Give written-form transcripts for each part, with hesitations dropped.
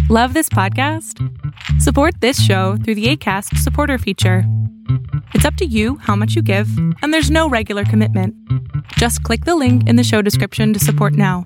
Love this podcast? Support this show through the Acast supporter feature. It's up to you how much you give, and there's no regular commitment. Just click the link in the show description to support now.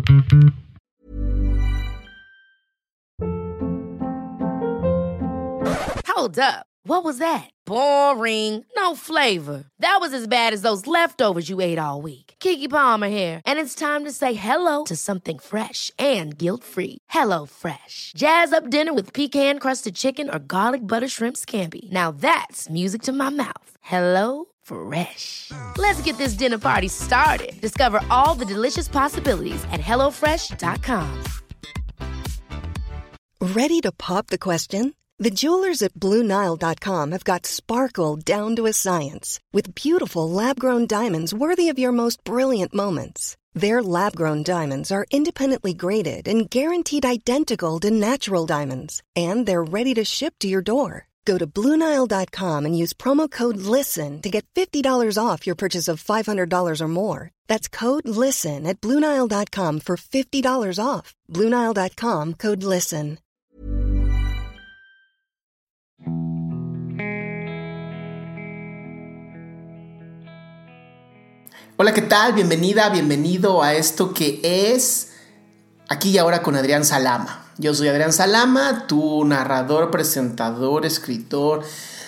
Hold up. What was that? Boring. No flavor. That was as bad as those leftovers you ate all week. Keke Palmer here. And it's time to say hello to something fresh and guilt-free. Hello Fresh. Jazz up dinner with pecan-crusted chicken or garlic butter shrimp scampi. Now that's music to my mouth. Hello Fresh. Let's get this dinner party started. Discover all the delicious possibilities at hellofresh.com. Ready to pop the question? The jewelers at BlueNile.com have got sparkle down to a science with beautiful lab-grown diamonds worthy of your most brilliant moments. Their lab-grown diamonds are independently graded and guaranteed identical to natural diamonds, and they're ready to ship to your door. Go to BlueNile.com and use promo code LISTEN to get $50 off your purchase of $500 or more. That's code LISTEN at BlueNile.com for $50 off. BlueNile.com, code LISTEN. Hola, ¿qué tal? Bienvenida, bienvenido a esto que es Aquí y Ahora con Adrián Salama. Yo soy Adrián Salama, tu narrador, presentador, escritor,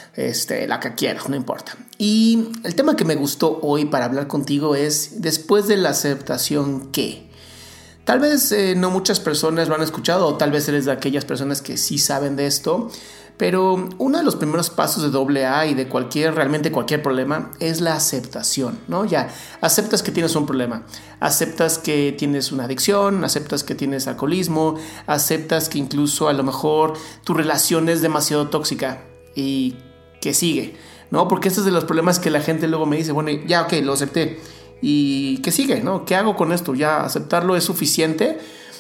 la que quieras, no importa. Y el tema que me gustó hoy para hablar contigo es después de la aceptación, ¿qué? Tal vez no muchas personas lo han escuchado, o tal vez eres de aquellas personas que sí saben de esto, pero uno de los primeros pasos de AA y de realmente cualquier problema es la aceptación, ¿no? Ya aceptas que tienes un problema, aceptas que tienes una adicción, aceptas que tienes alcoholismo, aceptas que incluso a lo mejor tu relación es demasiado tóxica y que sigue, ¿no? Porque este es de los problemas que la gente luego me dice, bueno, ya, ok, lo acepté. ¿Y qué sigue, no? ¿Qué hago con esto? ¿Ya aceptarlo es suficiente?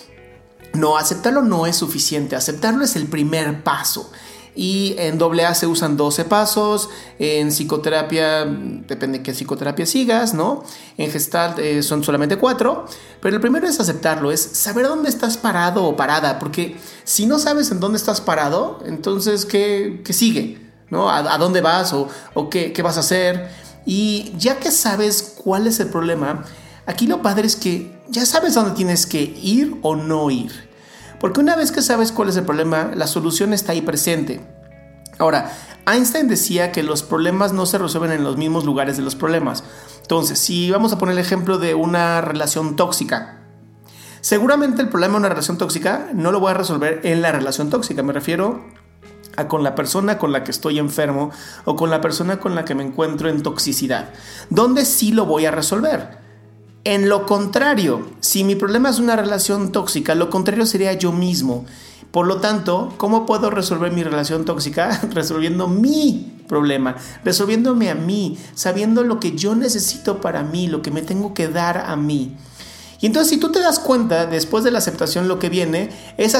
No, aceptarlo no es suficiente. Aceptarlo es el primer paso. Y en AA se usan 12 pasos. En psicoterapia, depende de qué psicoterapia sigas, ¿no? En Gestalt son solamente 4. Pero el primero es aceptarlo, es saber dónde estás parado o parada. Porque si no sabes en dónde estás parado, entonces, ¿qué sigue? ¿No? ¿A dónde vas? ¿O qué vas a hacer? Y ya que sabes cuál es el problema, aquí lo padre es que ya sabes dónde tienes que ir o no ir. Porque una vez que sabes cuál es el problema, la solución está ahí presente. Ahora, Einstein decía que los problemas no se resuelven en los mismos lugares de los problemas. Entonces, si vamos a poner el ejemplo de una relación tóxica, seguramente el problema de una relación tóxica no lo voy a resolver en la relación tóxica. Me refiero a con la persona con la que estoy enfermo o con la persona con la que me encuentro en toxicidad. ¿Dónde sí lo voy a resolver? En lo contrario, si mi problema es una relación tóxica, lo contrario sería yo mismo. Por lo tanto, ¿cómo puedo resolver mi relación tóxica? Resolviendo mi problema, resolviéndome a mí, sabiendo lo que yo necesito para mí, lo que me tengo que dar a mí. Y entonces, si tú te das cuenta, después de la aceptación lo que viene es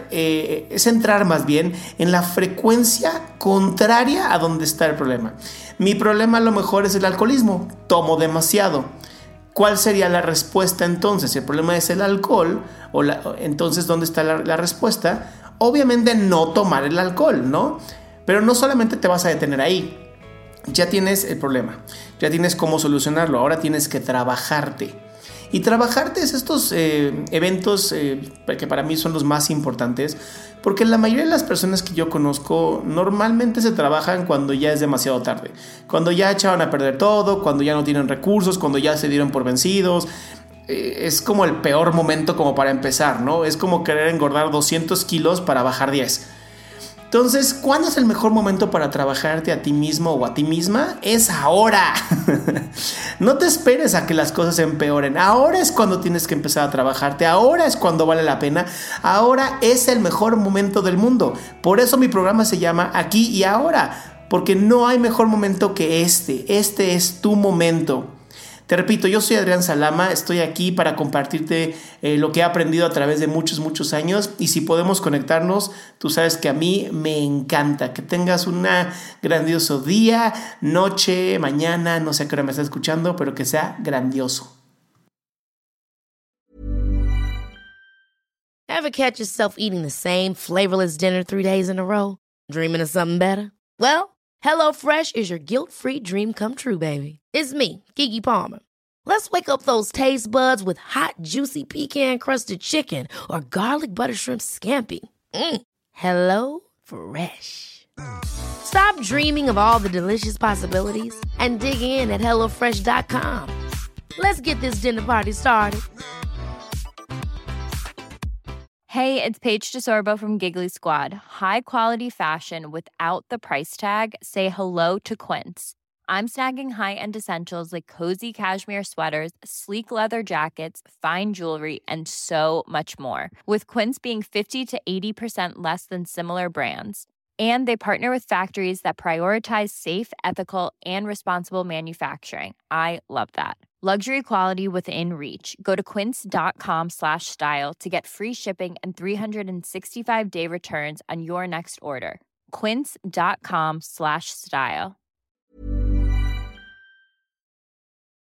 entrar más bien en la frecuencia contraria a donde está el problema. Mi problema a lo mejor es el alcoholismo, tomo demasiado. ¿Cuál sería la respuesta entonces? Si el problema es el alcohol, entonces ¿dónde está la respuesta? Obviamente no tomar el alcohol, ¿no? Pero no solamente te vas a detener ahí. Ya tienes el problema, ya tienes cómo solucionarlo, ahora tienes que trabajarte. Y trabajarte es estos eventos que para mí son los más importantes, porque la mayoría de las personas que yo conozco normalmente se trabajan cuando ya es demasiado tarde, cuando ya echaron a perder todo, cuando ya no tienen recursos, cuando ya se dieron por vencidos. Es como el peor momento como para empezar, ¿no? Es como querer engordar 200 kilos para bajar 10. Entonces, ¿cuándo es el mejor momento para trabajarte a ti mismo o a ti misma? Es ahora. No te esperes a que las cosas empeoren. Ahora es cuando tienes que empezar a trabajarte. Ahora es cuando vale la pena. Ahora es el mejor momento del mundo. Por eso mi programa se llama Aquí y Ahora. Porque no hay mejor momento que este. Este es tu momento. Te repito, yo soy Adrián Salama, estoy aquí para compartirte lo que he aprendido a través de muchos años, y si podemos conectarnos, tú sabes que a mí me encanta. Que tengas un grandioso día, noche, mañana, no sé a qué hora me estás escuchando, pero que sea grandioso. Ever catch yourself eating the same flavorless dinner 3 days in a row? Dreaming of something better? Well, HelloFresh is your guilt-free dream come true, baby. It's me, Keke Palmer. Let's wake up those taste buds with hot, juicy pecan-crusted chicken or garlic butter shrimp scampi. Hello Fresh. Stop dreaming of all the delicious possibilities and dig in at HelloFresh.com. Let's get this dinner party started. Hey, it's Paige DeSorbo from Giggly Squad. High quality fashion without the price tag. Say hello to Quince. I'm snagging high-end essentials like cozy cashmere sweaters, sleek leather jackets, fine jewelry, and so much more. With Quince being 50 to 80% less than similar brands. And they partner with factories that prioritize safe, ethical, and responsible manufacturing. I love that. Luxury quality within reach. Go to quince.com/style to get free shipping and 365-day returns on your next order. Quince.com/style.